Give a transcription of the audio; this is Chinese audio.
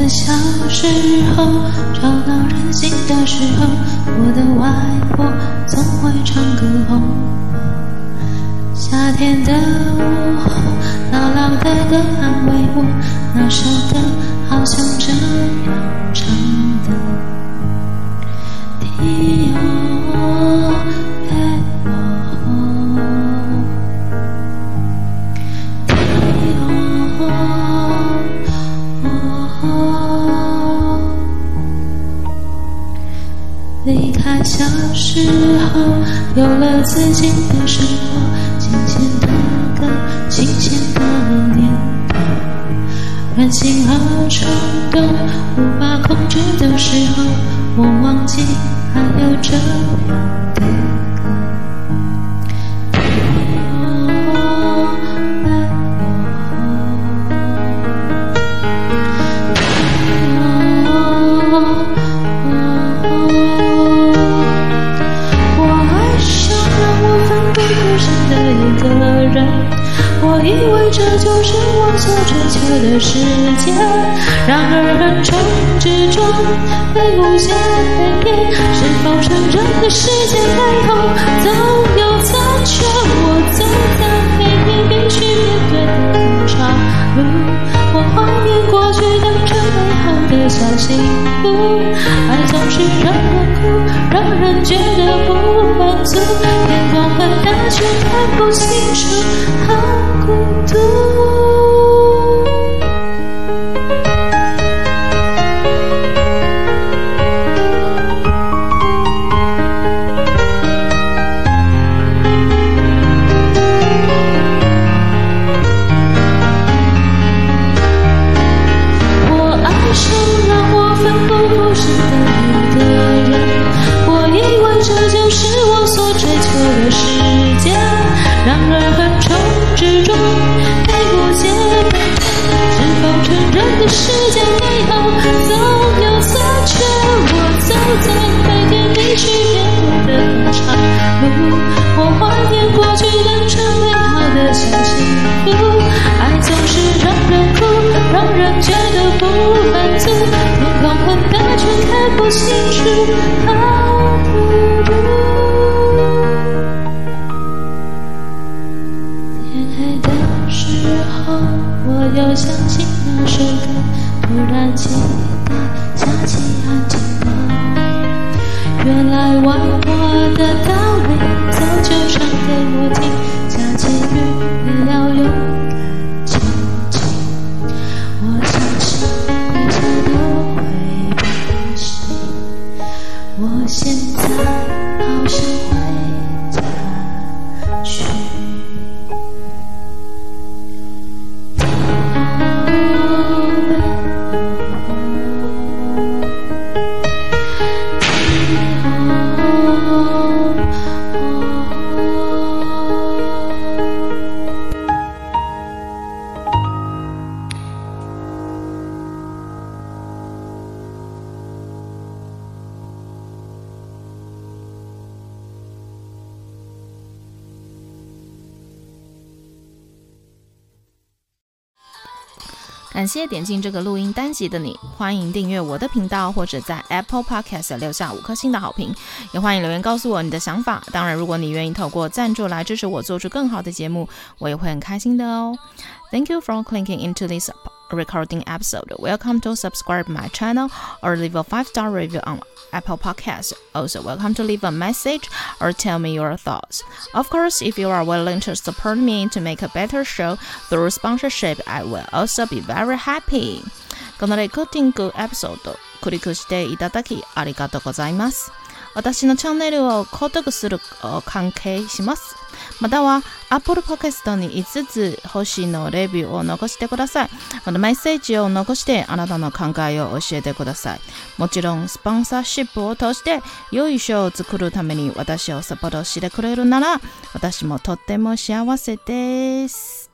小時候，找到人心的時候，我的外婆總會唱歌哄我。夏天的午後，姥姥的歌安慰我，那首歌好像這樣唱的。離開小時候，有了自己的生活，新鮮的歌，新鮮的念頭，任性和衝動無法控制的時候，我忘記還有這樣的歌。我以為這就是我所追求的世界，然而橫衝直撞，被無限改變。是否承認的世界背後總有殘缺？我走在每天必須面對的長路，我懷念過去當成美好的小幸福。愛總是讓人哭，讓人覺得不滿足，天空很大卻看不清楚，好孤獨。我愛上讓我奮不顧身的一個人，我以為這就是我所追求的世界，然而橫衝直撞，被誤解背叛。是否承認的世界背後總有殘缺？我走在每天必須面對的長路，我懷念過去當成美好的小幸福。愛總是讓人哭，讓人覺得不滿足，天空很大卻看不清楚，好孤獨。天黑的時候，我又想起那首歌，突然期待下起安靜了。原來外婆的道理早就唱給我聽，下起雨也要勇敢前進。我相信一切都會變心，我現在好想回家去。 感謝點進這個錄音單集的你，歡迎訂閱我的頻道，或者在 Apple Podcast 留下5顆星的好評，也歡迎留言告訴我你的想法。當然，如果你願意透過贊助來支持我做出更好的節目，我也會很開心的哦。Thank you for clicking into this recording episode. Welcome to subscribe my channel or leave a 5-star review on Apple Podcasts. Also, welcome to leave a message or tell me your thoughts. Of course, if you are willing to support me to make a better show through sponsorship, I will also be very happy. このレコーディングエピソード、クリックしていただきありがとうございます。私のチャンネルを購読する関係します。または Apple Podcast に5つ星のレビューを残してください。このメッセージを残してあなたの考えを教えてください。もちろんスポンサーシップを通して良いショーを作るために私をサポートしてくれるなら私もとっても幸せです。